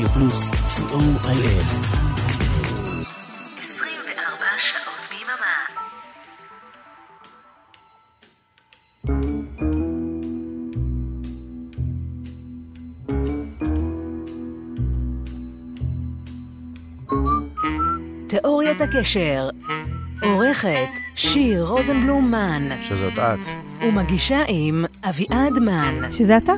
פלוס, COIS. 24 שעות ביממה. תיאוריית הקשר, עורכת שיר רוזנבלום מן, שזאת את, ומגישה עם אביעד מן, שזה אתה.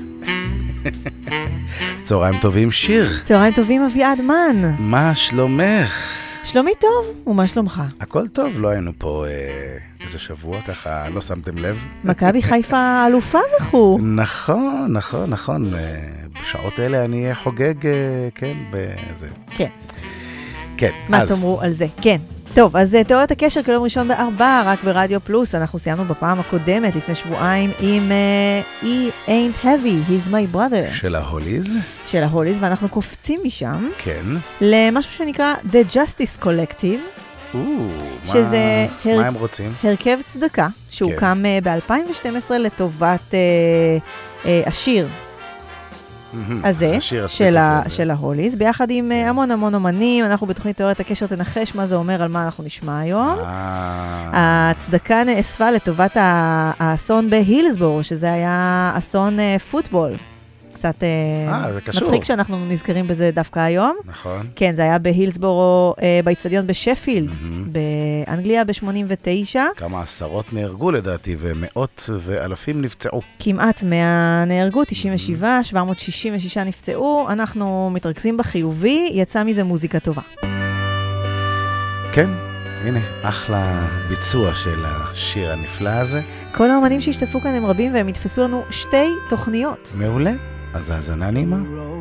צהריים טובים שיר. צהריים טובים אביעד מן. מה שלומך? שלומי טוב, ומה שלומך? הכל טוב, לא היינו פה איזה שבוע, ככה לא שמתם לב. מכבי חיפה אלופה וכו'. נכון, נכון, נכון. בשעות אלה אני חוגג, כן, בזה. כן. כן, מה תאמרו על זה? כן. טוב, אז תיאוריית הקשר כיום ראשון ב4, רק ברדיו פלוס. אנחנו סיימנו בפעם הקודמת, לפני שבועיים, עם He Ain't Heavy, He's My Brother. של ההוליז. של ההוליז, ואנחנו קופצים משם. כן. למשהו שנקרא The Justice Collective. שזה מה הם רוצים? הרכב צדקה, שהוקם ב-2012 לטובת השיר. הזה, של ההוליז, ביחד עם המון המון אומנים. אנחנו בתוכנית תיאוריית הקשר תנחש מה זה אומר, על מה אנחנו נשמע היום. הצדקה נאספה לטובת האסון בהילסבורו, שזה היה אסון פוטבול. קצת מצחיק שאנחנו נזכרים בזה דווקא היום. נכון. כן, זה היה בהילסבורו, באצטדיון בשפילד, באנגליה ב-89. כמה עשרות נהרגו לדעתי, ומאות ואלפים נפצעו. כמעט 100 נהרגו, 97, 766 נפצעו. אנחנו מתרכזים בחיובי, יצא מזה מוזיקה טובה. כן, הנה, אחלה ביצוע של השיר הנפלא הזה. כל האומנים שהשתתפו כאן הם רבים, והם יתפסו לנו 2 תוכניות. מעולה. אז האזנה נעימה.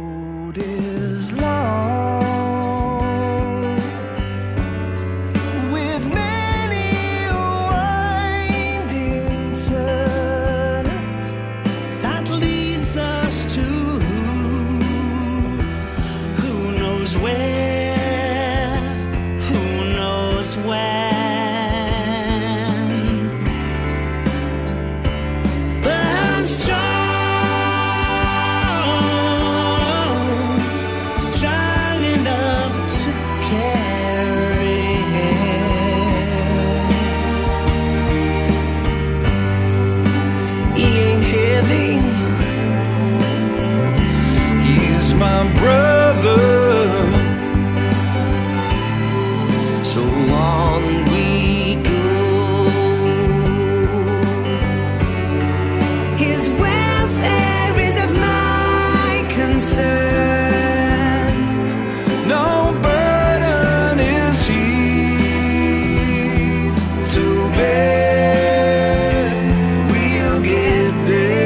My brother, so on we go. His welfare is of my concern. No burden is he to bear. We'll get there.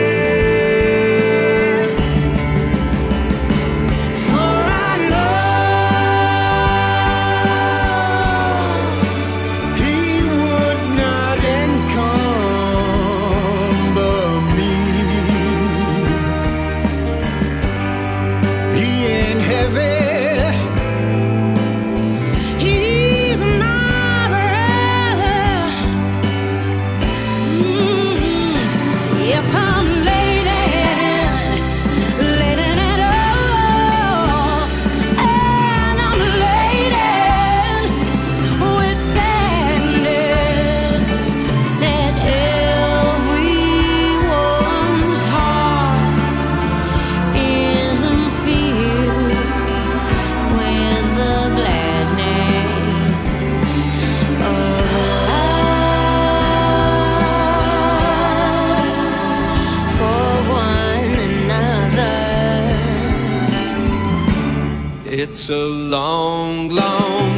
It's a long, long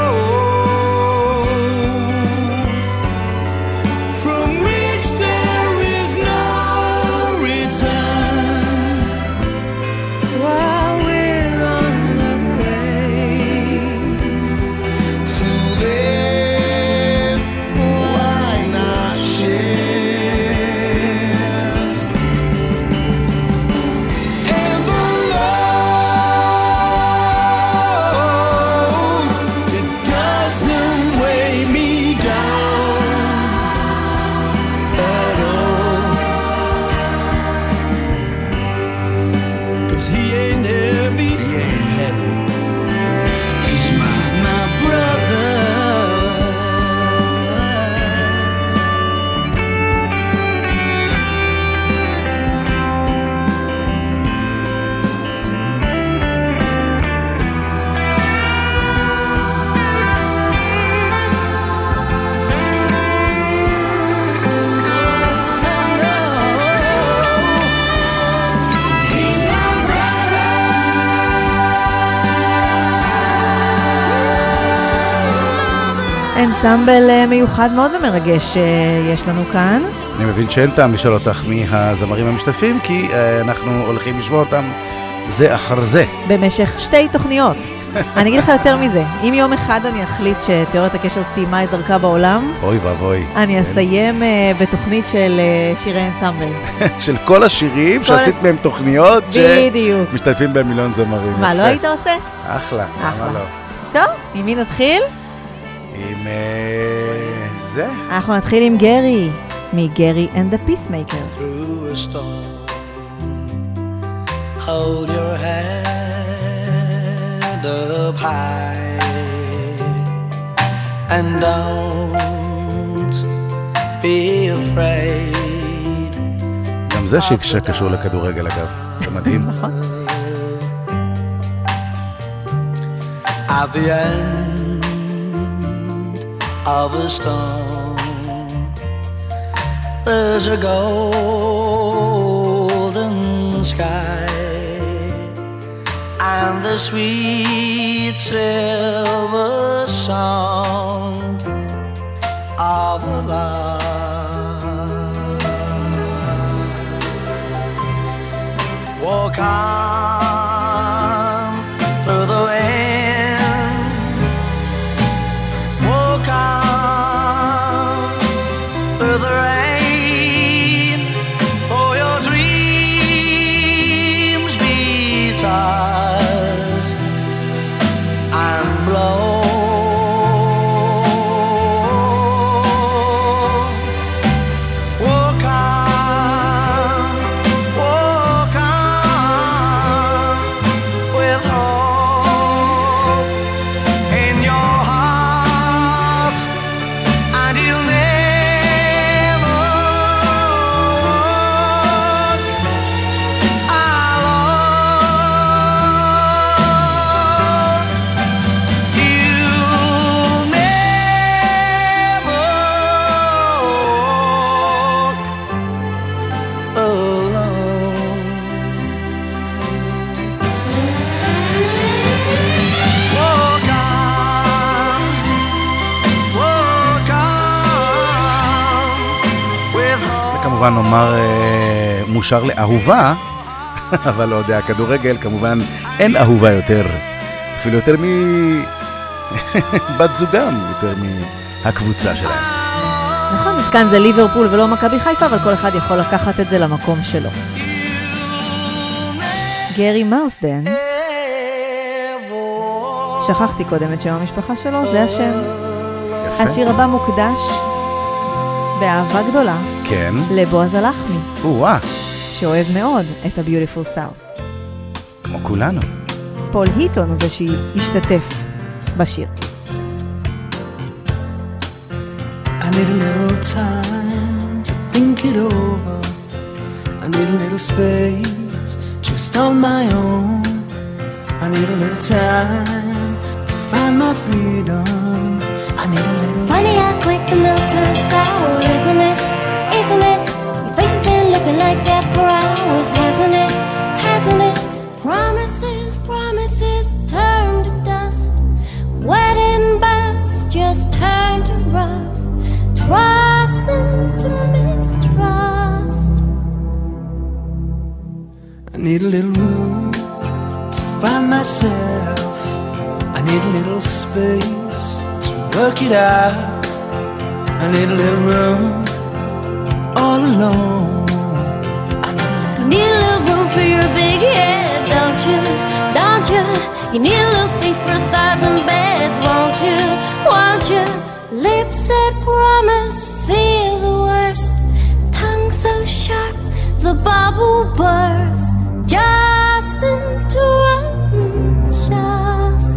road from which there is no return. While we're on the way to there, why not share? And the love אנסמבל מיוחד מאוד ומרגש יש לנו כאן. אני מבין שאין טעם לשאול אותך מי הזמרים המשתתפים, כי אנחנו הולכים לשמוע אותם זה אחר זה. במשך 2 תוכניות. אני אגיד לך יותר מזה, אם יום אחד אני אחליט שתיאוריית הקשר סיימה את דרכה בעולם, אוי ואבוי. אני אסיים בתוכנית של שירי אנסמבל. של כל השירים שעשית מהם תוכניות שמשתתפים בהם מיליון זמרים. מה, לא היית עושה? אחלה, למה לא? טוב, עם מי נתחיל? עם זה. אנחנו נתחיל עם גרי, מגרי and the Peacemakers. Through a storm, hold your head up high and don't be afraid. גם זה שקשור לכדורגל אגב, זה מדהים. נכון. At the end of a storm, there's a golden sky and the sweet silver sound of love. Walk on through the wind, walk on through the rain, for your dreams be tossed and blown. Walk on with hope in your heart, and you'll never walk alone. You'll never walk alone. Walk on with hope. וכמובן נאמר מושר לאהובה, אבל לא יודע, כדורגל כמובן אין אהובה יותר, אפילו יותר בת זוגם, יותר מהקבוצה שלהם. נכון, אז כאן זה ליברפול ולא מכבי חיפה, אבל כל אחד יכול לקחת את זה למקום שלו. גרי מרסדן, שכחתי קודם את שם המשפחה שלו, זה השם. יפה. השיר הבא מוקדש באהבה גדולה כן. לבועז הלחמי, וואה, שאוהב מאוד את ה-Beautiful South. כמו כולנו. פול היטון הוא זה שהשתתף בשיר. I need a little time to think it over. I need a little space just on my own. I need a little time to find my freedom. I need a little. Funny how quick the milk turns sour, isn't it? Isn't it? Your face has been looking like that for hours, hasn't it? Hasn't it? Promises, promises turn to dust. Wedding bells just turn to rust. Trust into mistrust. I need a little room to find myself. I need a little space to work it out. I need a little room all alone. I need a little. Need a little room for your big head, don't you? Don't you? You need a little space for 1,000 beds, won't you? Won't you? Lips that promise, feel the worst. Tongue so sharp, the bubble bursts. Just into unjust.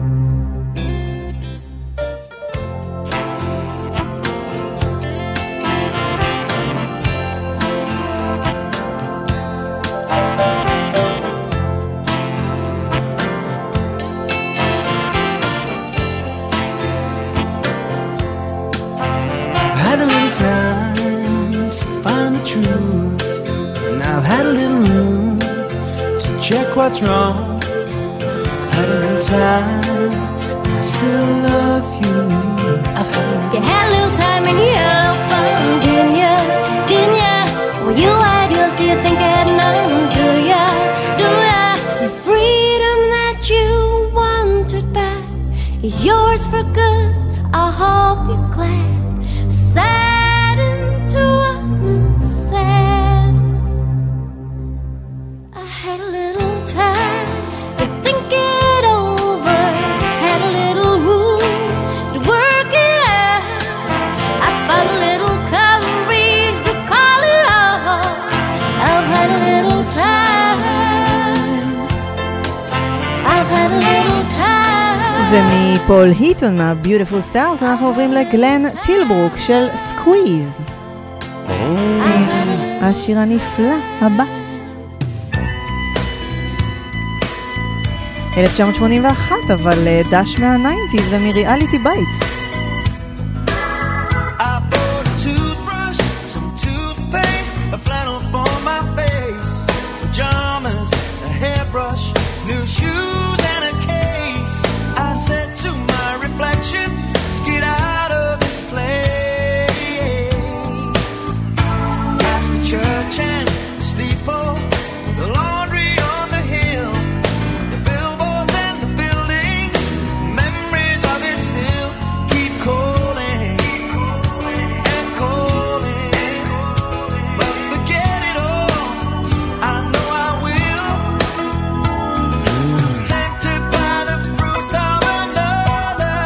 I've had a little time to find the truth, and I've had a little room to check what's wrong. I've had a little time, and I still love you. I've had a little. You had a little time and you had a little fun, didn't ya? Didn't ya? Well, you had yours, do you think I had none? Do ya? Do ya? The freedom that you wanted back is yours for good. I hope you're glad. Saddened to unsaid. I had a little time to think it over. Had a little room to work it out. I found a little courage to call it off. I've had a little time. I've had a little time. ומפול היטון מה-Beautiful South אנחנו עוברים לגלן טילברוק של סקוויז. השיר הנפלא הבא. 1981, אבל דש מה-90s ומריאליטי בייטס. I bought a toothbrush, some toothpaste, a flannel for my face, pajamas, a hairbrush, new shoes and a case. I said to my reflection, let's get out of this place. Past the church and the steeple, the laundry on the hill, the billboards and the buildings, memories of it still keep calling and calling. But forget it all, I know I will. Tempted by the fruit of another,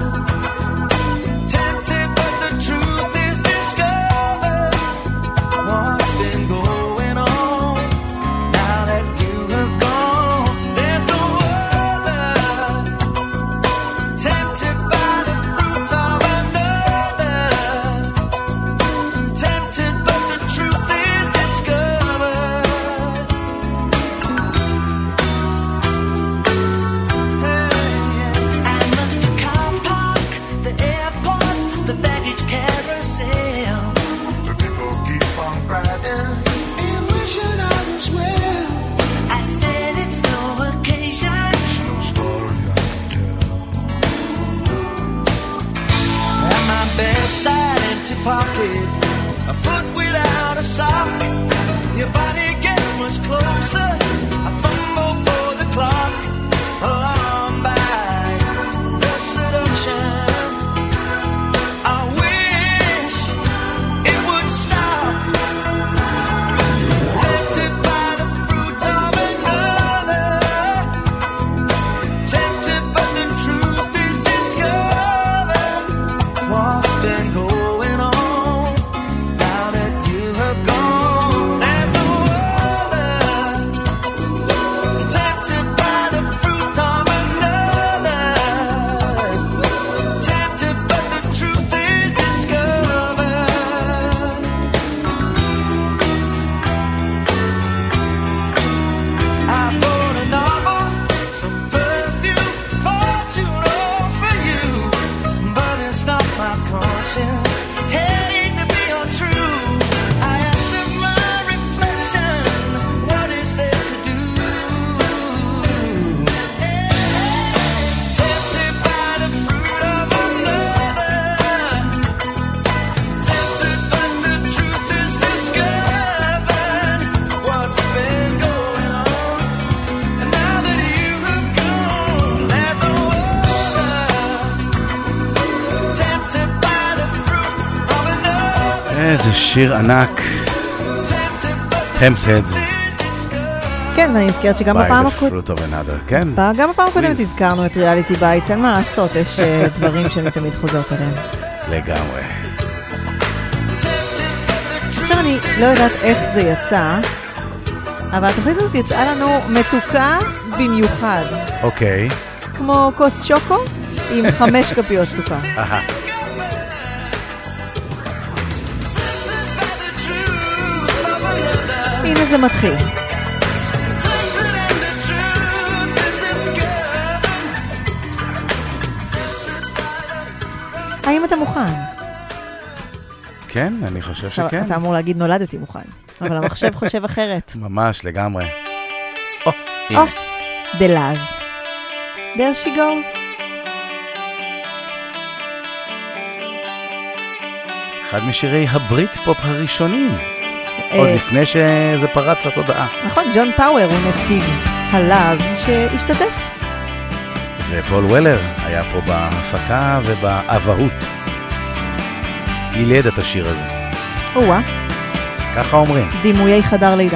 tempted but the truth is discovered. What's been going on now that you have gone? There's no other. Tempted by the fruit of another, tempted but the truth is discovered. I'm at the car park, the airport, the baggage carousel. The people keep on riding and wishing I was well. I said it's no occasion, it's no story I can tell. At my bedside, empty pocket, a foot without a sock. Your body gets much closer. I fumble for the clock. Alarmed by the seduction. I wish it would stop. Tempted by the fruit of another, tempted but the truth is discovered. What's been going on now that you have gone? There's no other. Tempted by the fruit of another, tempted but the truth is discovered. I bought a novel, some perfume, fortune all for you, but it's not my conscience. Hate to be untrue. I asked of my reflection, what is there to do? Tempted by the fruit of another, tempted but the truth is discovered. What's been going on? And now that you have gone, there's no other. Tempted by the fruit of another, איזה שיר ענק. tempted but the Tempted truth is discovered. כן, אני נזכרת שגם by בפעם the הקודמת, fruit of another. כן. גם בפעם הקודמת הזכרנו את ריאליטי בייטס, אין מה לעשות, יש דברים שאני תמיד חוזרת עליהם. לגמרי. עכשיו אני לא יודעת איך זה יצא, אבל התוכנית הזאת יצאה לנו מתוקה במיוחד, אוקיי. כמו כוס שוקו עם 5 כפיות סוכר. אהה. הנה זה מתחיל. האם אתה מוכן? כן, אני חושב עכשיו, שכן. אתה אמור להגיד נולדתי מוכן, אבל המחשב חושב אחרת. ממש, לגמרי. או, הנה. The Laz. There she goes. אחד משירי הברית פופ הראשונים, עוד לפני שזה פרץ לתודעה. נכון, ג'ון פאוור הוא נציג הלאז שהשתתף. ופול וולר היה פה בהפקה ובאבהות. ילד את השיר הזה. וואה. ככה אומרים. דימויי חדר לידה.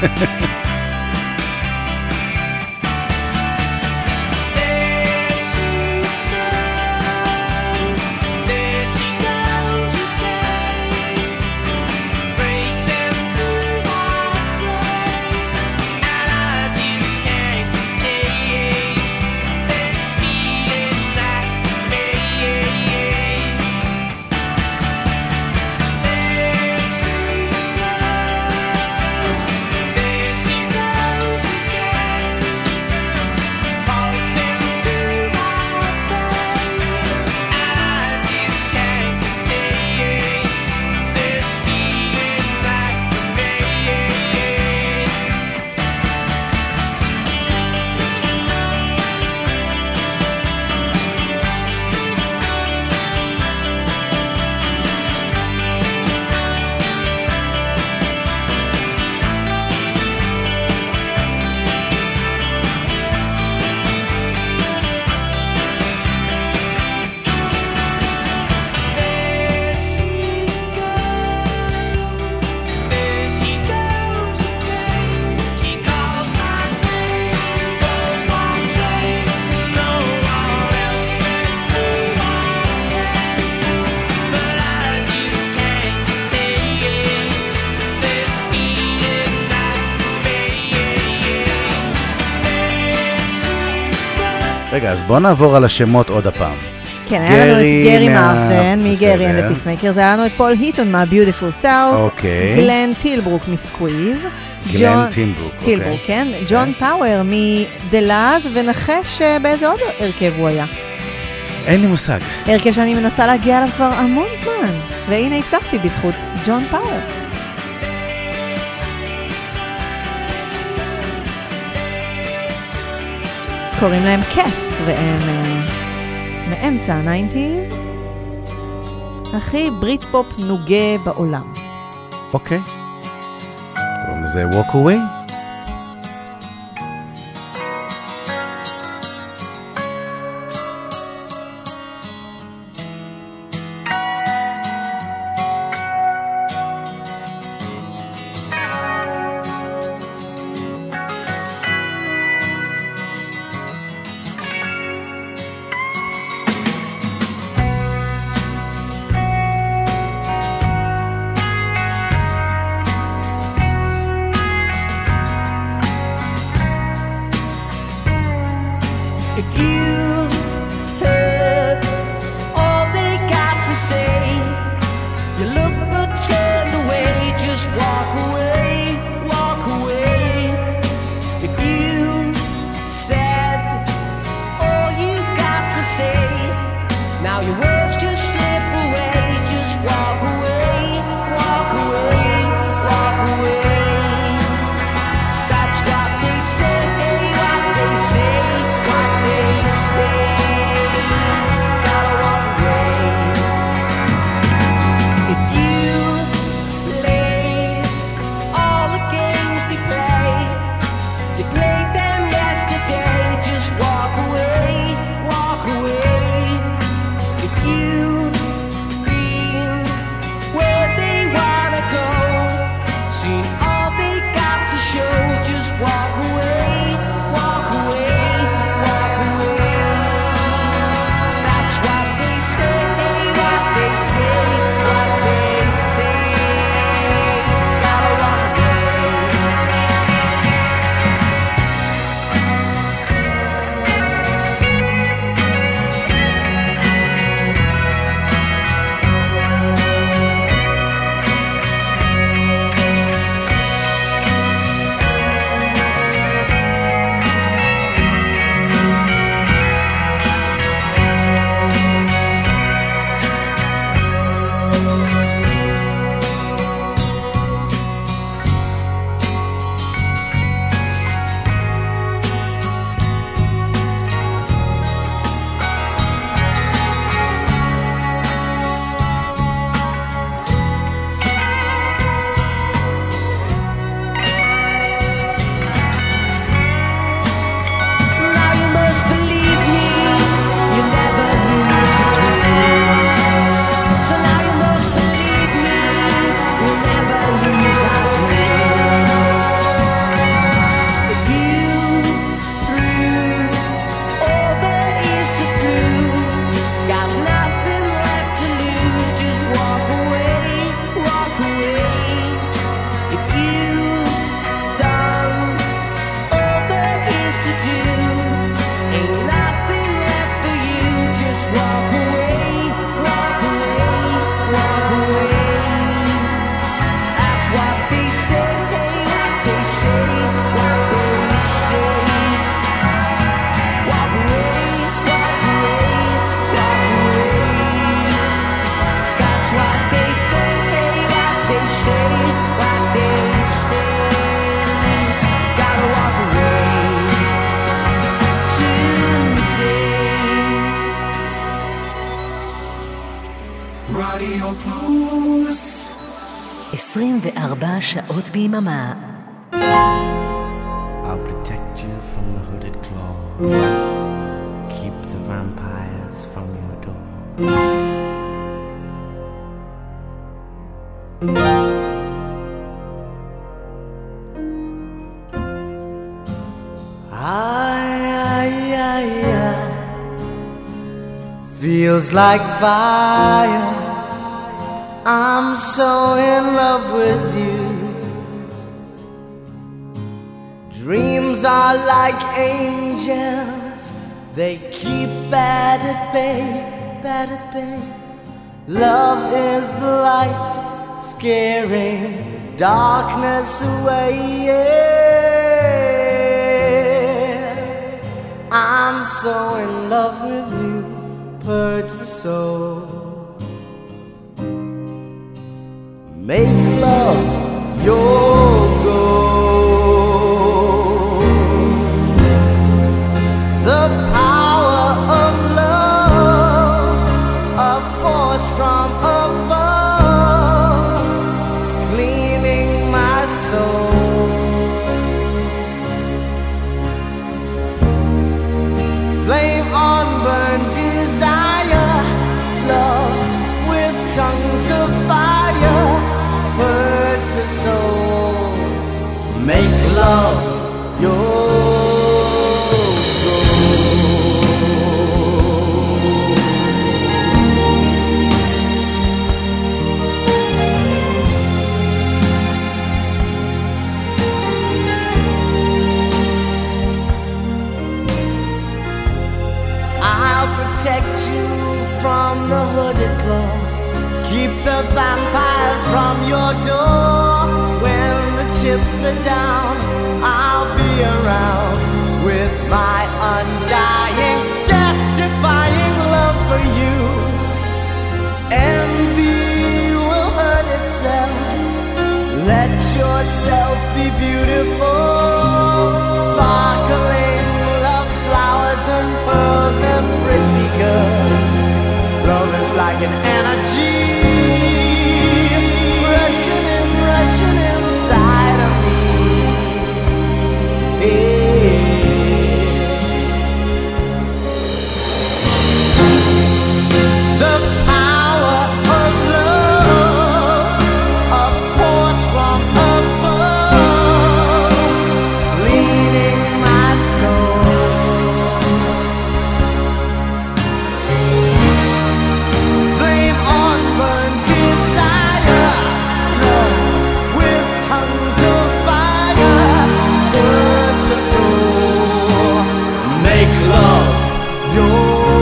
רגע, אז בוא נעבור על השמות עוד הפעם. כן, היה לנו את גרי מרסדן מגרי אנד הפיסמייקרס, היה לנו את פול היטון מה-Beautiful South, גלן טילברוק מסקוויז, גלן טילברוק, טילברוק, כן, ג'ון פאוור מדלאז, ונחש באיזה עוד הרכב הוא היה. אין לי מושג. הרכב שאני מנסה להגיע עליו כבר המון זמן, והנה הצלחתי בזכות ג'ון פאוור. קוראים להם קאסט, והם מאמצע ה-90s, הכי ברית פופ נוגה בעולם. אוקיי. קוראים לזה Walk Away. 24 שעות ביממה. I'll protect you from the hooded claw. Keep the vampires from your door. Feels like fire. I'm so in love with you. Dreams are like angels. They keep bad at bay, bad at bay. Love is the light, scaring darkness away. Yeah. I'm so in love with you. Purge the soul. Make love your goal. The power of love, a force from above, cleaning my soul. Flame on burnt desire, love with tongues of fire, purge the soul, make love your protect you from the hooded claw. Keep the vampires from your door. When the chips are down, I'll be around with my undying, death-defying love for you. Envy will hurt itself. Let yourself be beautiful, sparkling love flowers and pearls and pretty girls. Love is like an energy rushing inside of me. The power of love, a force from above, leading my soul. Flame on burnt desire, love with tongues of fire, burns the soul. Make love your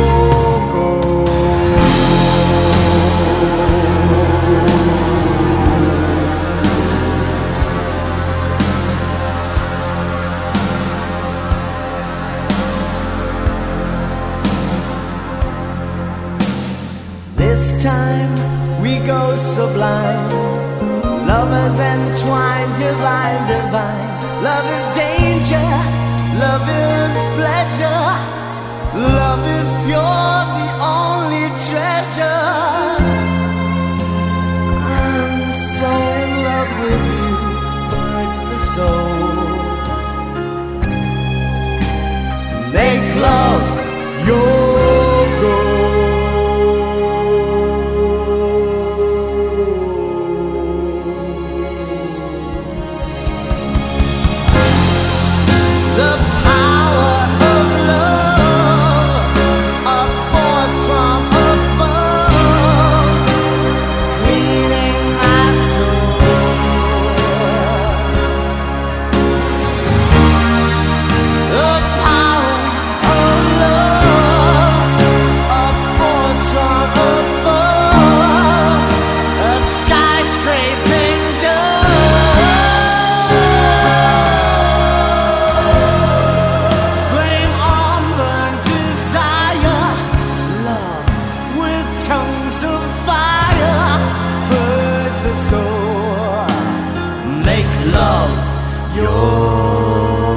this time we go sublime, lovers entwined, divine, divine. Love is danger, love is pleasure, love is pure, the only treasure. I'm so in love with you, hurts the soul. Make love your goal. The power of love, a force from above, cleaning my soul. The power of love, a force from above, a skyscraping flame on burnt desire, love with tongues of fire, burns the soul. Make love your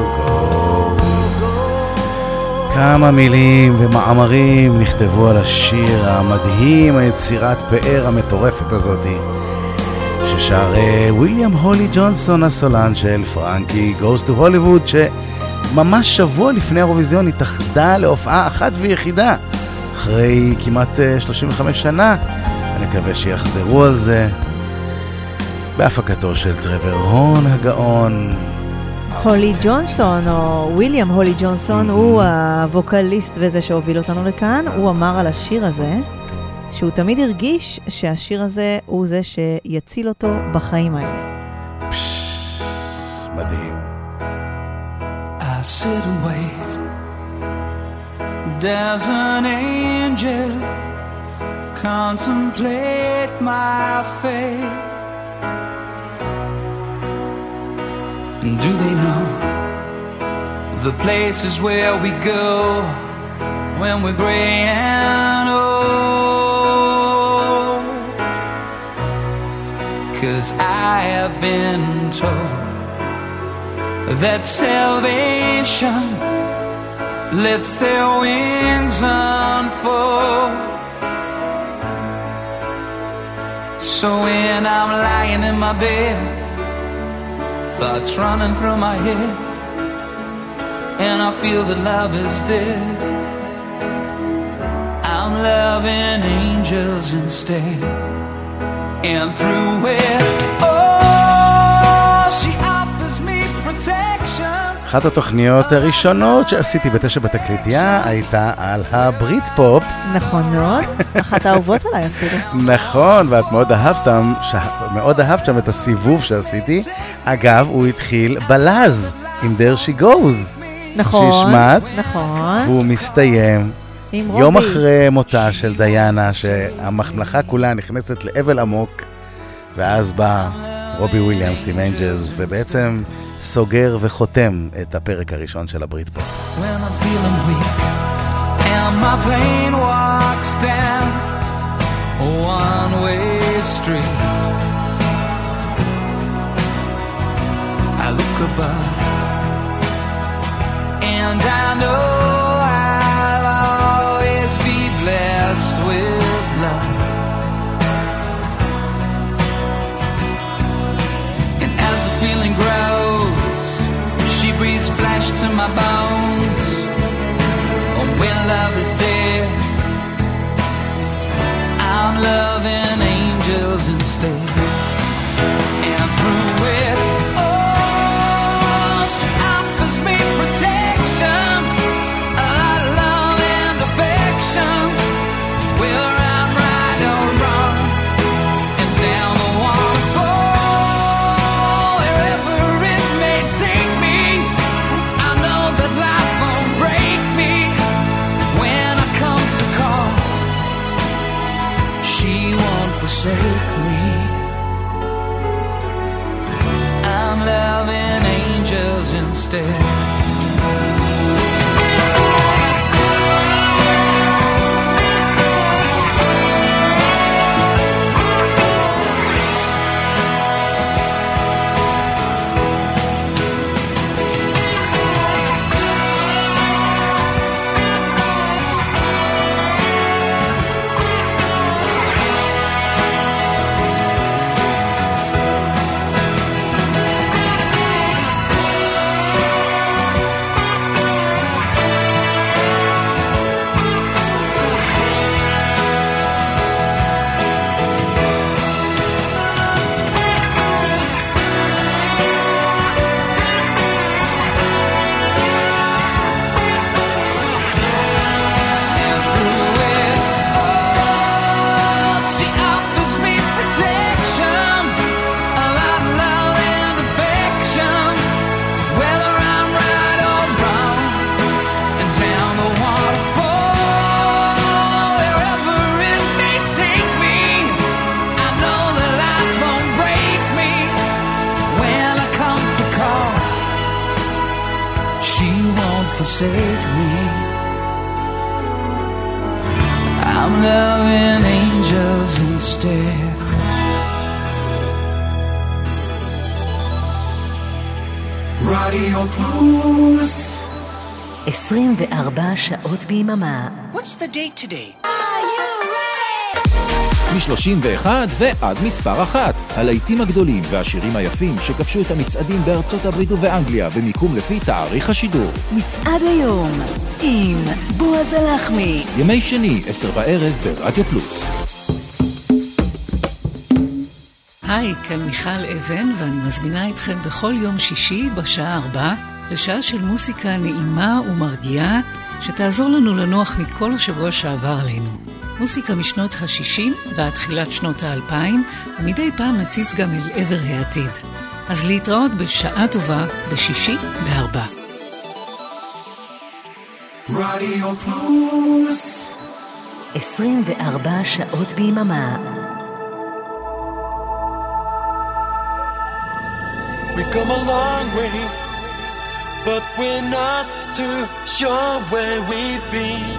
goal. כמה מילים ומאמרים נכתבו על השיר המדהים, היצירת פאר המטורפת הזאת, ששר וויליאם הולי ג'ונסון, הסולן של פרנקי Goes to Hollywood, שממש שבוע לפני האירוויזיון התאחדה להופעה אחת ויחידה אחרי כמעט 35 שנה. אני מקווה שיחזרו על זה בהפקתו של טרוור הורן הגאון. הולי ג'ונסון, או וויליאם הולי ג'ונסון, הוא הווקליסט וזה שהוביל אותנו לכאן. הוא אמר על השיר הזה שהוא תמיד הרגיש שהשיר הזה הוא זה שיציל אותו בחיים האלה. מדהים. I sit and wait. There's an angel contemplate my fate. Do they know the places where we go when we're gray and old? 'Cause I have been told that salvation lets their wings unfold. So when I'm lying in my bed, thoughts running through my head, and I feel that love is dead, I'm loving angels instead. And through it, oh, she offers me protection. אחת התוכניות הראשונות שעשיתי ב9 בתקליטייה הייתה על הברית פופ. נכון מאוד, אחת האהובות עליי אפילו. נכון, ואת מאוד אהבת שם את הסיבוב שעשיתי. אגב, הוא התחיל בלז עם There She Goes. נכון, שהשמעת, נכון. והוא מסתיים יום אחרי מותה של דיאנה, שהממלכה כולה נכנסת לאבל עמוק, ואז בא רובי וויליאמס עם אנג'לס, ובעצם סוגר וחותם את הפרק הראשון של הברית פופ. When I'm feeling weak and my plane walks down a one-way street, I look above and I know I'll always be blessed with love. And as the feeling grows, she breathes flesh to my bones. And when love is dead, I'm loving angels instead. And through it, oh, she offers me protection, a lot of love and affection, whether I'm right or wrong, and down the waterfall, wherever it may take me, I know that life won't break me when I come to call. She won't forsake me. I'm loving angels instead. Forsake me. I'm loving angels instead. Radio Plus. 24 שעות ביממה. What's the date today? מ-31 ועד מספר 1. הלהיטים הגדולים והשירים היפים שכבשו את המצעדים בארצות הברית ובאנגליה במיקום לפי תאריך השידור. מצעד היום עם בועז הלחמי. ימי שני, 10 בערב ברדיו פלוס. היי, כאן מיכל אבן, ואני מזמינה אתכם בכל יום שישי בשעה 4 לשעה של מוסיקה נעימה ומרגיעה שתעזור לנו לנוח מכל השבוע שעבר עלינו. מוסיקה משנות ה-60 ועד תחילת שנות ה-2000, ומדי פעם נציץ גם אל עבר העתיד. אז להתראות בשעה טובה בשישי ב-4. רדיו פלוס 24 שעות ביממה. We've come a long way, but we're not too sure where we've been.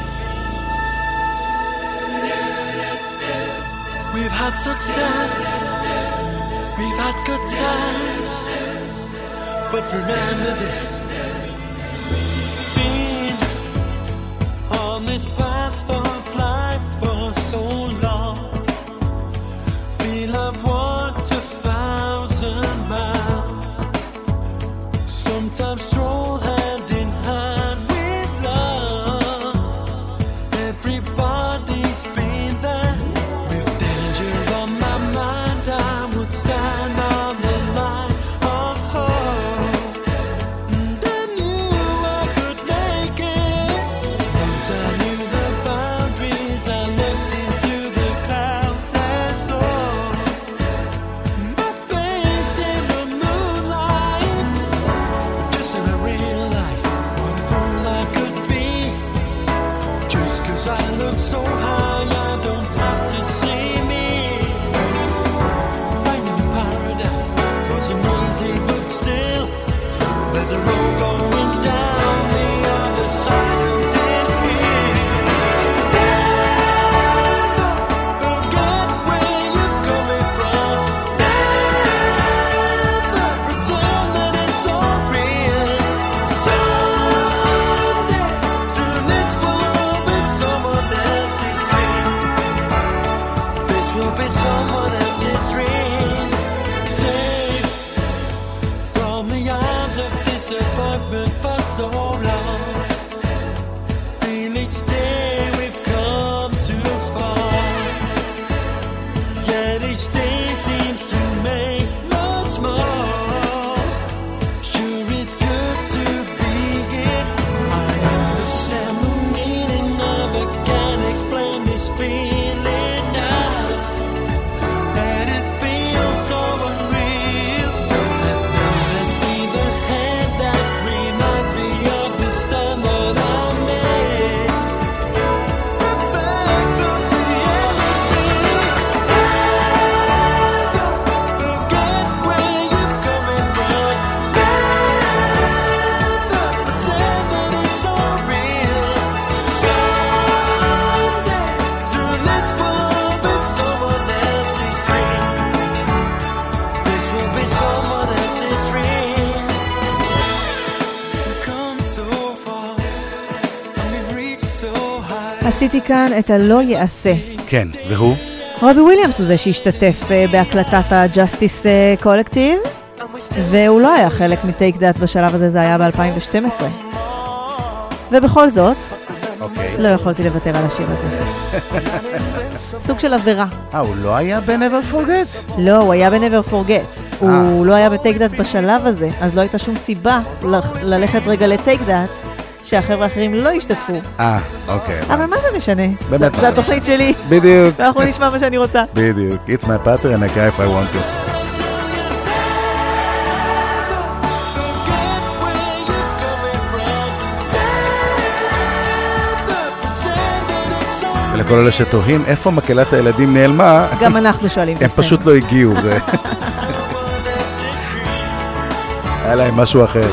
We've had success, we've had good times, but remember this: being on this path of life for so long, we'll have walked 1,000 miles. Sometimes stroll hand in hand with love. Everybody's been there. With danger on my mind, I would stand on the line of hope. And I knew I could make it. Once I knew the boundaries, I looked into the clouds as though my face in the moonlight. Just then I realized what a fool I could be. Just 'cause I look so high, I don't have to see me. Finding a paradise wasn't easy, but still, there's a road going down the other side of this hill. Never forget where you're coming from. Never pretend that it's all real. Someday, soon this will all be someone else's dream. This will be someone else's dream. Safe from the arms of disappointment for so long. Feel each day we've come too far. Yet each day seems to make much more. Sure it's good to be here. I understand the meaning of it, can't explain this feeling now. And it feels so unreal. And now I see the hand that reminds me of the stand that I made. Perfect of reality. Never forget where you're coming from. Never pretend that it's all real. Someday, soon this will all be someone else's dream. This will be someone else's dream. We've come so far, and we've reached so high. עשיתי כאן את הלא יעשה. כן, והוא? רובי וויליאמס הוא זה שהשתתף בהקלטת ה-Justice Collective, והוא לא היה חלק מ-Take That בשלב הזה, זה היה ב-2012. ובכל זאת, לא יכולתי לוותר על השיר הזה. סוג של עבירה. הוא לא היה ב-Never Forget? לא, הוא היה ב-Never Forget. הוא לא היה ב-Take That בשלב הזה, אז לא הייתה שום סיבה ללכת רגע ל-Take That, שהחבר'ה האחרים לא השתתפו. אוקיי. אבל מה זה משנה? באמת. זה התוכנית שלי. בדיוק. ואנחנו נשמע מה שאני רוצה. בדיוק. It's my pattern, I cry if I want to. ולכל אלה שתוהים איפה מקהלת הילדים נעלמה, גם אנחנו שואלים את הם עצמנו. פשוט לא הגיעו. היה להם משהו אחר.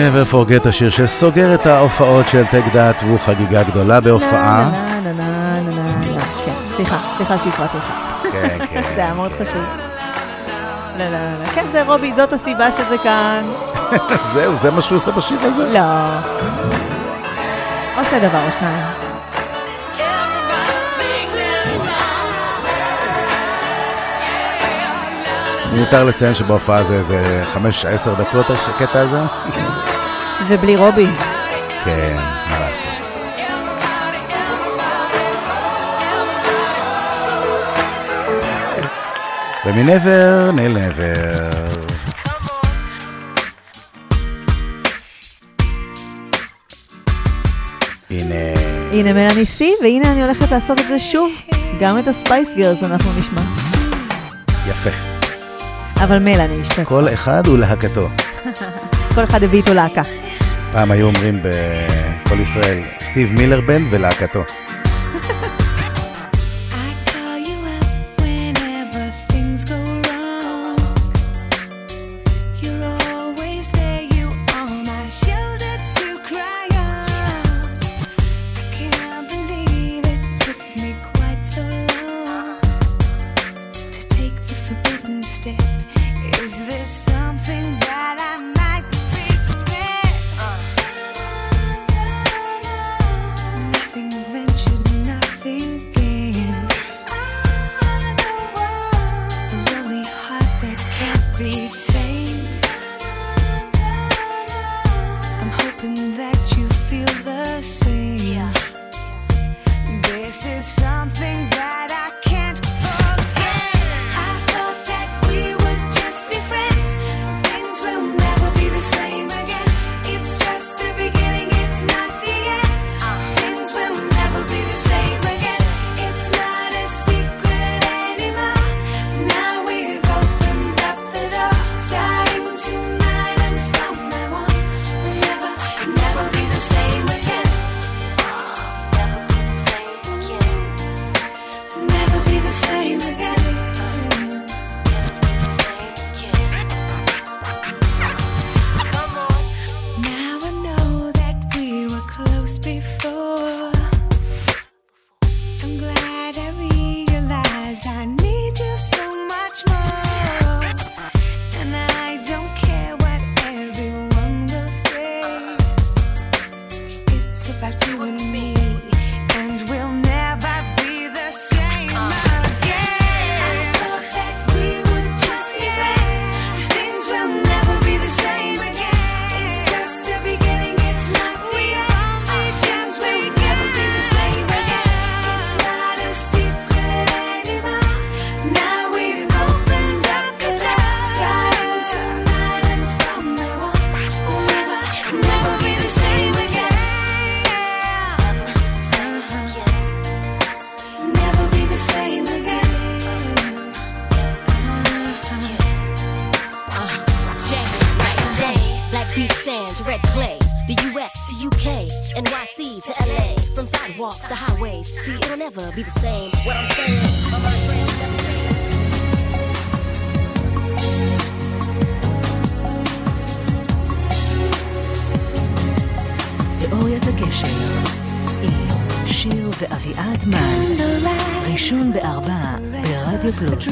Never Forget, השיר שסוגר את ההופעות של טק דאט, והוא חגיגה גדולה בהופעה. סליחה שהפרעתי לך. כן. זה היה מאוד חשוב. כן, זה רובי, זאת הסיבה שזה כאן. זהו, זה מה שהוא עושה בשיר הזה? לא. עושה דבר או שניים. מיותר לציין שבהופעה זה 5-10 דקות הקטע הזה. ובלי רובי. כן, מה לעשות. ומנבר ניל נבר. הנה מלאני סי, והנה אני הולכת לעשות את זה שוב. גם את הספייס גרס אנחנו נשמע. יפה. אבל מלאני השתתפה. כל אחד הוא להקתו. כל אחד הביא איתו להקה. פעם היו אומרים בכל ישראל, סטיב מילר בן ולהקתו. תיאוריית הקשר עם שיר ואביעד מן, ראשון ב4 ברדיו פלוס.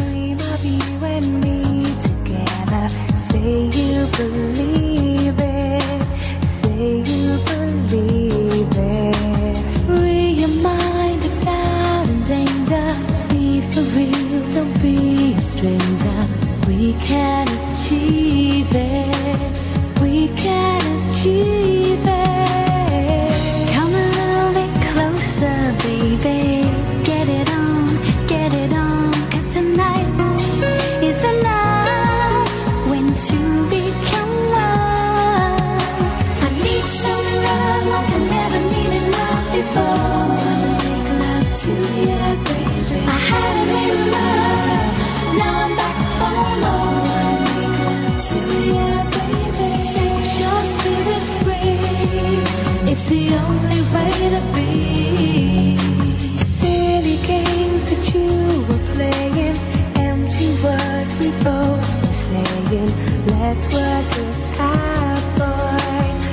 Say you believe it, say you believe it. Free your mind of doubt and danger. Be for real, don't be a stranger. We can achieve it, we can achieve it. Come a little bit closer, baby. Get it on, get it on. 'Cause tonight is the night when two become one. I need some love like I never needed love before. Make love to you, baby. I haven't made love, now I'm back for more. Make love to you, baby. Set your spirit free, it's the only way to be. Silly games that you were playing, empty words we both were saying. Let's work it out, boy.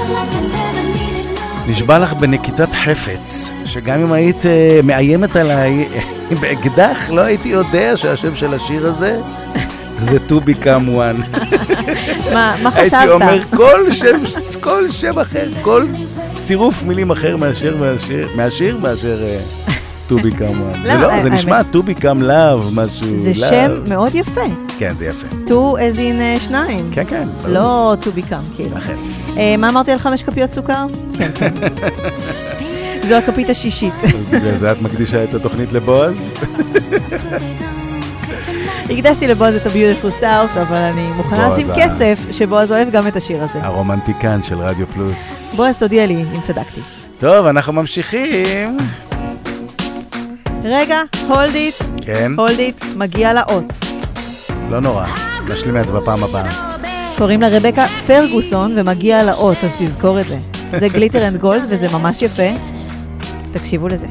נשבע לך בנקיטת חפץ, שגם אם היית מאיימת עליי באקדח, לא הייתי יודע שהשם של השיר הזה זה To Become One. מה חשבת? הייתי אומר כל שם אחר, כל צירוף מילים אחר מהשיר מאשר To Become One. זה נשמע To Become Love, משהו. זה שם מאוד יפה. כן, זה יפה. To as in שניים. כן, כן. לא To Become, כאילו. אחר. מה אמרתי על 5 כפיות סוכר? כן, כן. זו הכפית השישית. אז בגלל זה את מקדישה את התוכנית לבועז? הקדשתי לבועז את ה-Beautiful South, אבל אני מוכנה לשים כסף שבועז אוהב גם את השיר הזה. הרומנטיקן של רדיו פלוס. בועז, תודיע לי אם צדקתי. טוב, אנחנו ממשיכים. רגע, hold it. כן. hold it, מגיע לאות. לא נורא, נשלים את זה בפעם הבאה. קוראים לה רבקה פרגוסון ומגיע לאות, אז תזכור את זה. זה גליטר אנד גולד וזה ממש יפה. תקשיבו לזה.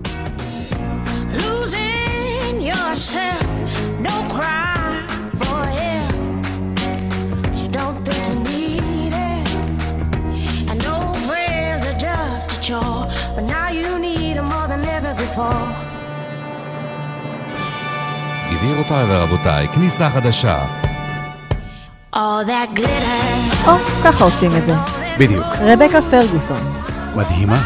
But now you need them more than ever before. גבירותיי ורבותיי, כניסה חדשה. All that glitter. ככה עושים את זה. בדיוק. רבקה פרגוסון. מדהימה.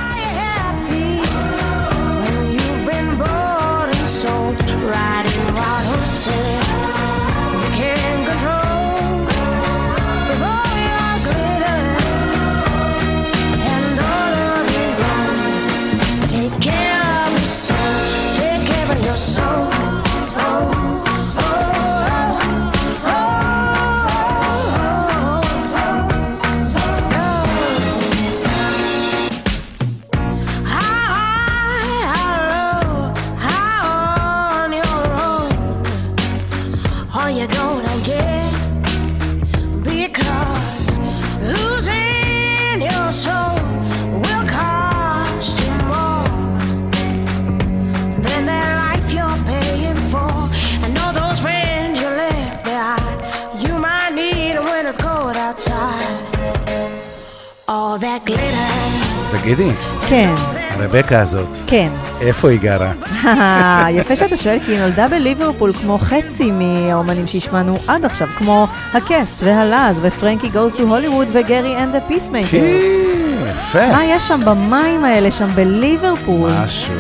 תגידי. כן. הרבקה הזאת. כן. איפה היא גרה? יפה שאתה שואל, כי היא נולדה בליברפול כמו חצי מהאומנים שהשמענו עד עכשיו, כמו הקסט והלאז ופרנקי גוז טו הוליווד וגרי אנד דה פיסמייקר. יפה. מה יש שם במים האלה, שם בליברפול? משהו.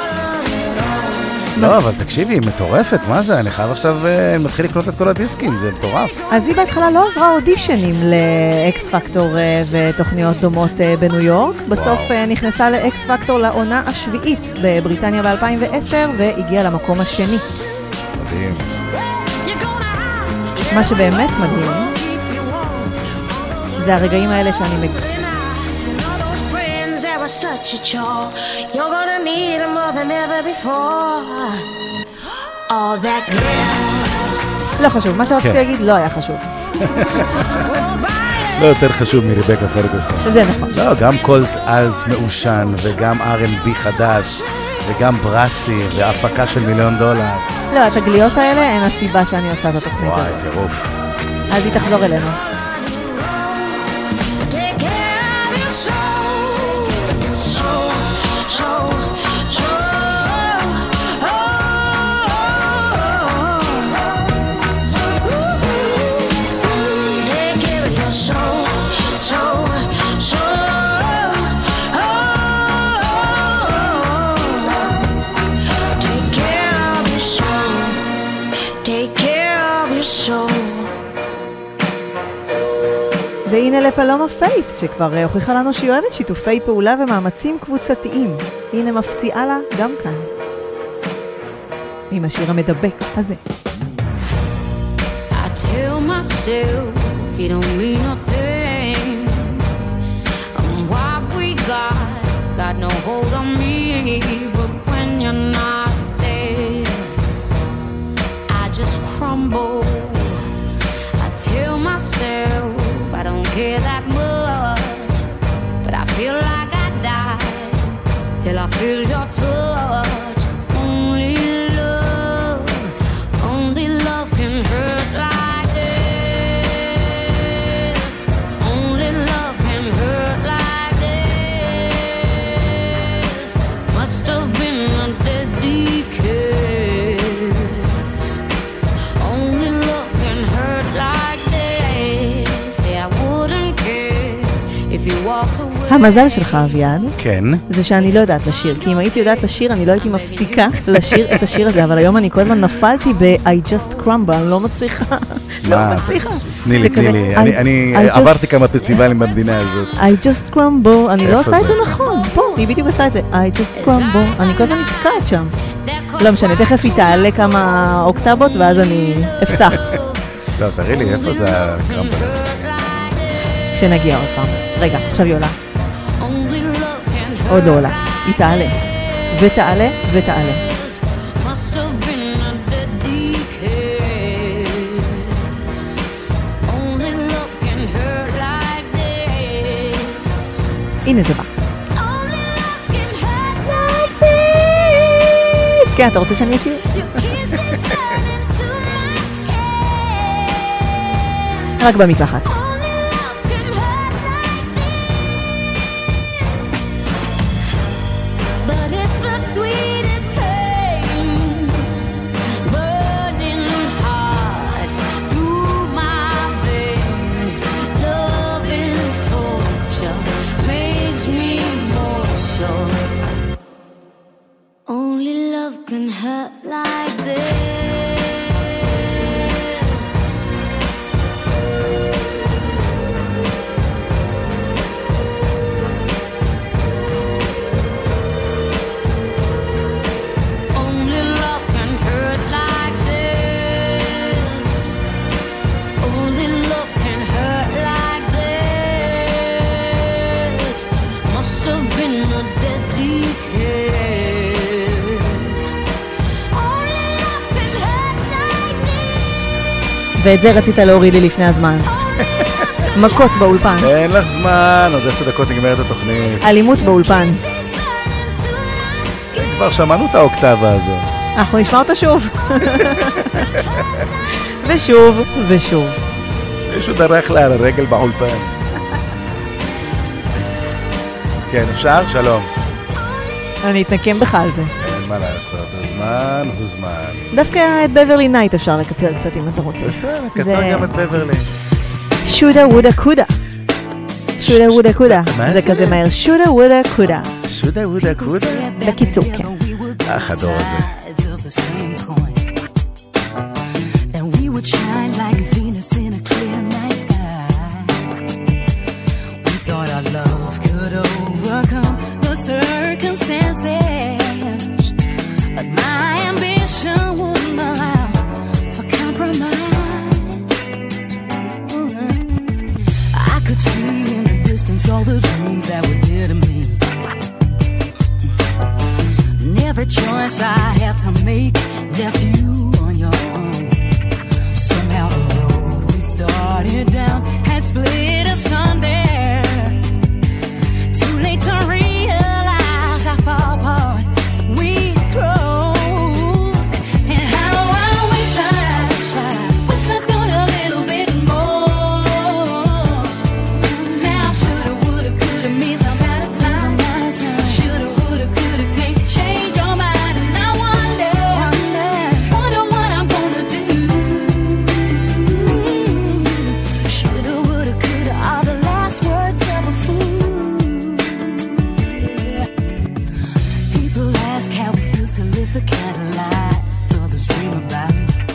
לא, אבל תקשיבי, היא מטורפת, מה זה? אני חייב עכשיו, מתחיל לקנות את כל הדיסקים, זה מטורף. אז היא בהתחלה לא עברה אודישנים לאקס פקטור ותוכניות דומות בניו יורק. בסוף נכנסה לאקס פקטור לעונה השביעית בבריטניה ב-2010, והגיעה למקום השני. מדהים. מה שבאמת מדהים, זה הרגעים האלה שאני מגיעה. Such a chore. You're gonna need them more than ever before. All that glitter. לא חשוב, מה שרציתי להגיד לא היה חשוב. לא יותר חשוב מרבקה פרגוסון. זה נכון. לא, גם קולט אלט מעושן, וגם R&B חדש, וגם ברסי, והפקה של $1,000,000. לא, התגליות האלה הן הסיבה שאני עושה את התוכנית הזאת. וואי, טירוף. אז היא תחזור אלינו. והנה לפלומה פייט, שכבר הוכיחה לנו שהיא אוהבת שיתופי פעולה ומאמצים קבוצתיים. הנה מפציעה לה גם כאן. עם השיר המדבק הזה. I tell myself you don't mean nothing. What we got no hold on me. But when you're not there, I just crumble. I tell myself I don't care that much, but I feel like I die till I feel your touch. Only love can hurt like this. Only love can hurt if you walked away. המזל שלך, אביעד, כן. זה שאני לא יודעת לשיר, כי אם הייתי יודעת לשיר, אני לא הייתי מפסיקה לשיר את השיר הזה, אבל היום אני כל הזמן נפלתי ב-I just crumble, אני לא מצליחה. לא מצליחה. תני לי. אני עברתי כמה פסטיבלים במדינה הזאת. I just crumble, אני לא עושה את זה נכון. פה, היא בדיוק עושה את זה. I just crumble, אני כל הזמן נתקעת שם. לא משנה, תכף היא תעלה כמה אוקטבות, ואז אני אפצח. לא, תראי לי, איפה זה הקרמבל הזה? כשנגיע עוד פעם. רגע, עכשיו היא עולה. עוד לא עולה. היא תעלה. ותעלה, ותעלה. הנה זה בא. כן, אתה רוצה שאני אשיר? רק במקלחת. ואת זה רצית להוריד לי לפני הזמן. מכות באולפן. אין לך זמן, עוד 10 דקות נגמרת התוכנית. אלימות באולפן. כבר שמענו את האוקטבה הזו. אנחנו נשמע אותה שוב. ושוב, ושוב. מישהו דרך לה על הרגל באולפן. כן, אפשר? שלום. אני אתנקם בך על זה. אין מה לעשות, הזמן הוא זמן. דווקא את בברלי נייט אפשר לקצר קצת אם אתה רוצה. בסדר, קצר גם את בברלי. שודה וודה קודה. שודה וודה קודה. זה כזה מהר. שודה וודה קודה. שודה וודה קודה? בקיצור, כן. החדור הזה. all the dreams that were dear to me. And every choice I had to make left you on your own. Somehow the road we started down had split asunder. Too late to realize how far apart we'd grown. And how I wish I'd done a little bit more. Now shoulda, woulda, coulda means I'm out of time. Shoulda, woulda, coulda, can't change your mind. And I wonder what I'm gonna do. Shoulda, woulda, coulda are the last words of a fool. People ask how it feels to live the kind of life others dream about.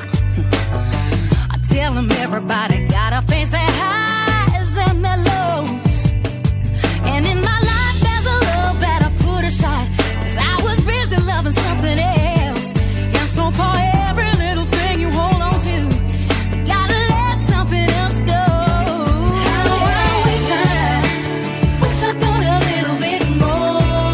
I tell them everybody gotta face their highs and their lows. And in my life there's a love that I put aside, 'cause I was busy loving something else. And so for every little thing you hold on to, you gotta let something else go. How I wish I'd done a little bit more.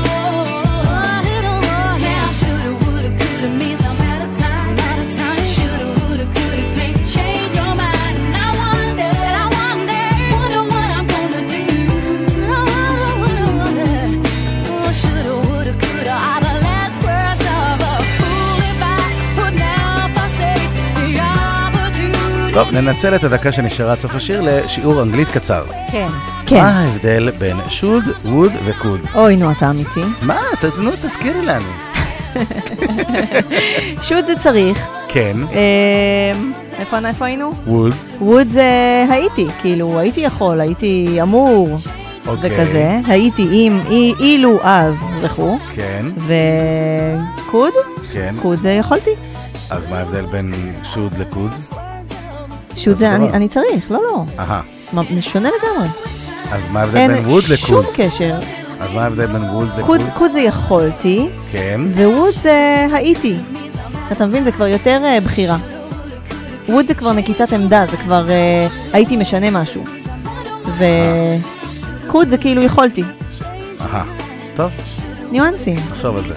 Now shoulda, woulda, coulda means I'm out of time. Shoulda, woulda, coulda can't change your mind. And I wonder what I'm gonna do. Oh, shoulda, woulda, coulda are the last words of a fool. If I would now forsake the opportunity. טוב, ננצל את הדקה שנשארה עד סוף השיר לשיעור אנגלית קצר. כן. כן. מה ההבדל בין should, would ו-could? אוי, נו, אתה אמיתי. מה? תזכירי לנו. שוט זה צריך. כן. איפה היינו? would. would זה הייתי, כאילו, הייתי יכול, הייתי אמור. וכזה, הייתי עם, אילו אז וכו'. כן. וקוד? כן. קוד זה יכולתי. אז מה ההבדל בין שוד לקוד? שוד זה אני צריך, לא. זה שונה לגמרי. אז מה ההבדל בין ווד לקוד? אין שום קשר. אז מה ההבדל בין ווד לקוד? קוד זה יכולתי. כן. וווד זה הייתי. אתה מבין, זה כבר יותר בחירה. ווד זה כבר נקיטת עמדה, זה כבר הייתי משנה משהו. וקוד זה כאילו יכולתי. טוב. ניואנסים. נחשוב על זה.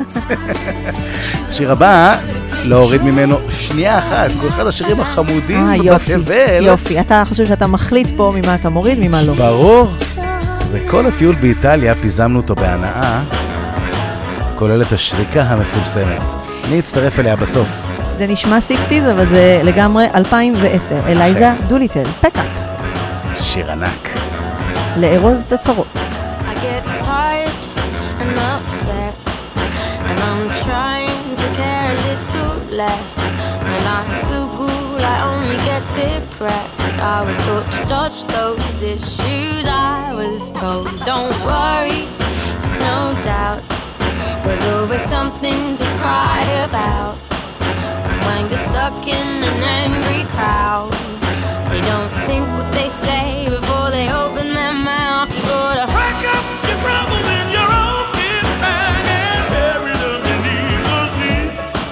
השיר הבא, להוריד ממנו שנייה אחת, כל אחד השירים החמודים בתבל. יופי, אתה חושב שאתה מחליט פה ממה אתה מוריד, ממה לא. ברור. וכל הטיול באיטליה פיזמנו אותו בהנאה, כולל את השריקה המפורסמת. אני אצטרף אליה בסוף. זה נשמע 60s, אבל זה לגמרי 2010. אלייזה דוליטל, פקאפ. שיר ענק. לארוז את הצרות. I get tired and upset, and I'm trying to care a little less. When I Google, I only get depressed. I was taught to dodge those issues. I was told, don't worry, there's no doubt. There's always something to cry about. When you're stuck in an angry crowd, they don't think what they say before they open their mouth. You gotta pack up your troubles in your own kit bag and bury them beneath the sea.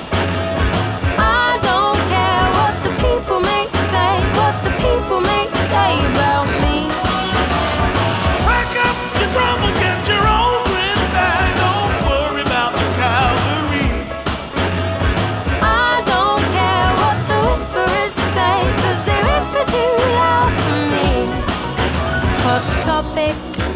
I don't care what the people may say, what the people may say about me. Pack up your troubles, get your own kit bag, don't worry about the cavalry. I don't care what the whisperers say, 'cause they whisper too loud for me. Hot topic,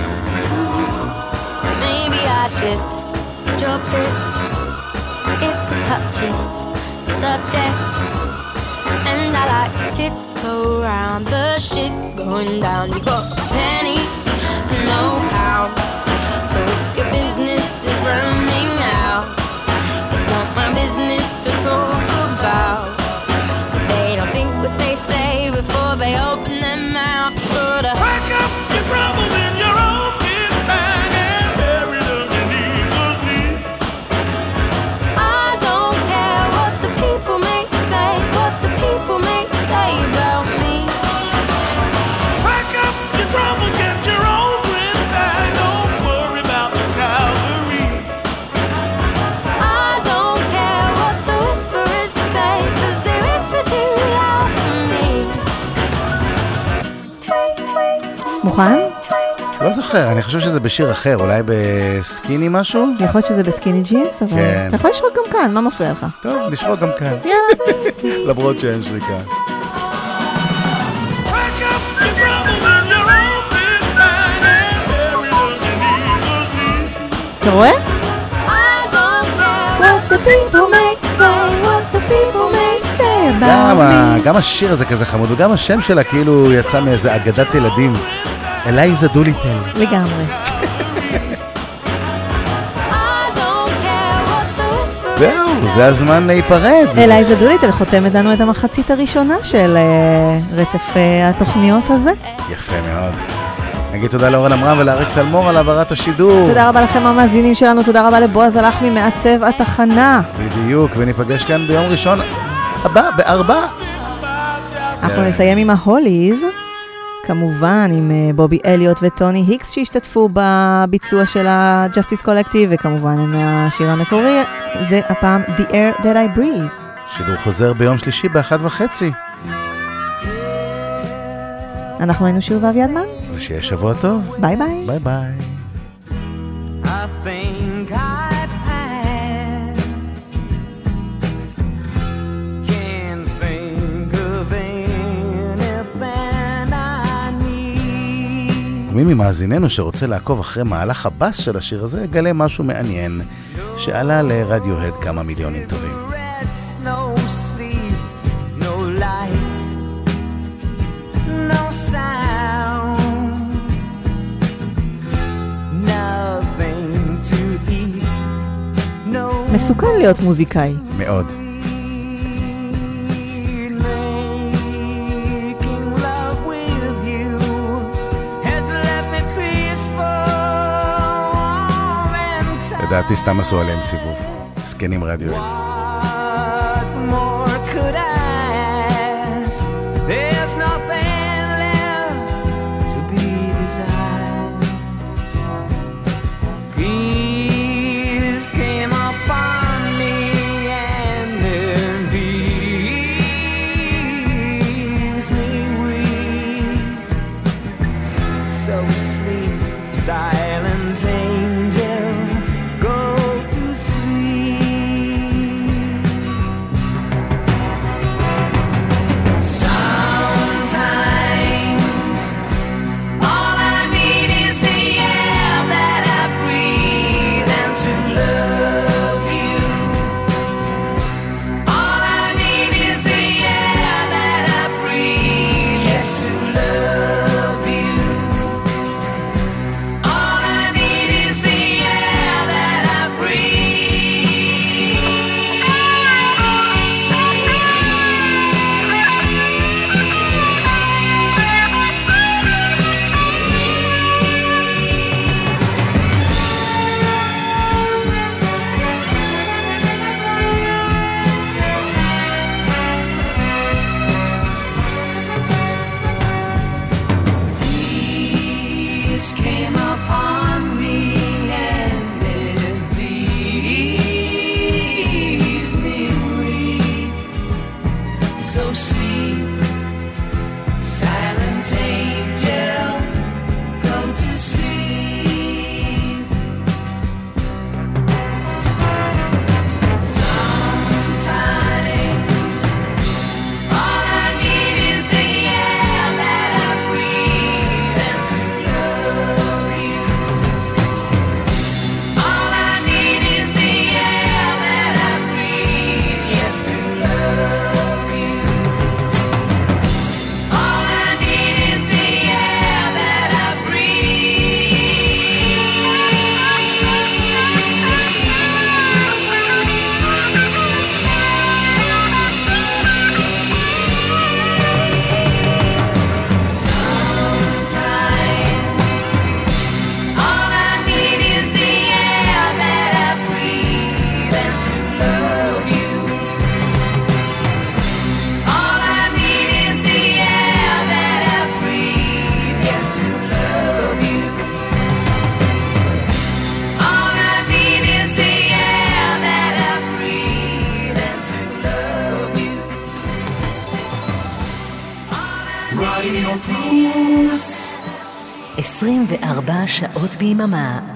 maybe I should drop it. It's a touchy subject, and I like to tiptoe around the shit going down. You got a penny, no pound, so if your business is running out, it's not my business to talk about. They don't think what they say before they open their mouth. You gotta pack up your troubles in your own kit bag and bury them beneath the sea. I don't care what the people may say, what the people may say about me. Pack up your troubles, get your own kit bag, don't worry about the cavalry. I don't care what the whisperers say, 'cause they whisper too loud for me. מוכן? לא זוכר, אני חושב שזה בשיר אחר, אולי בסקיני משהו? יכול להיות שזה בסקיני ג'ינס, אבל כן. אתה יכול לשרוק גם כאן, מה מפריע לך? טוב, נשרוק גם כאן. יאללה. למרות שאין שריקה. אתה רואה? What the people may say, what the people may say about me. גם השיר הזה כזה חמוד, וגם השם שלה כאילו יצא מאיזה אגדת ילדים. אלייזה דוליטל. לגמרי. זהו, זה הזמן להיפרד. אלייזה דוליטל חותמת לנו את המחצית הראשונה של רצף התוכניות הזה. יפה מאוד. נגיד תודה לאורן עמרם ולאריק תלמור על העברת השידור. תודה רבה לכם המאזינים שלנו, תודה רבה לבועז הלחמי מעצב התחנה. בדיוק, וניפגש כאן ביום ראשון הבא, ב4. אנחנו נסיים עם ההוליז, כמובן עם בובי אליוט וטוני היקס שהשתתפו בביצוע של ה-Justice Collective, וכמובן עם השיר המקורי, זה הפעם The Air That I Breathe. שידור חוזר ביום שלישי ב1:30. אנחנו היינו שיר ואביעד מן. ושיהיה שבוע טוב. ביי ביי. ביי ביי. I think I passed. Can't think of anything I need. ומי ממאזיננו שרוצה לעקוב אחרי מהלך הבאס של השיר הזה, יגלה משהו מעניין שעלה לרדיוהד כמה מיליונים טובים. No sleep, no light, no sound, nothing to eat, no. מסוכן להיות מוזיקאי. מאוד. Making love with you has left me feeling לדעתי סתם עשו עליהם סיבוב. סקנים רדיואט. What more could I ask? There's nothing left to be desired. Peace came upon me and then peace me weak. So sleep, silent angel, go to sleep. Sometimes all I need is the air that I breathe and to love you. All I need is the air that I breathe, yes, to love you. All I need is the air that I Peace came upon me and it pleased me weak. So sleep, silent angel, go to sleep. Sometimes all I need is the air that I breathe and to love you. All I need is the air that I breathe, yes, to love you. All I need is the air that I All I need is the air that I breathe and to love you. All I need is the air that I breathe, yes, to love you. All I need is the air that I breathe and to love you. רדיו פלוס 24 שעות ביממה